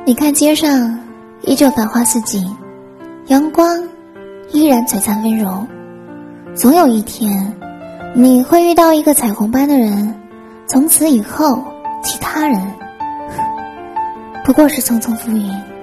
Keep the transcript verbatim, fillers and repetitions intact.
你看街上依旧繁花似锦，阳光依然璀璨温柔。总有一天你会遇到一个彩虹般的人，从此以后其他人不过是匆匆浮云。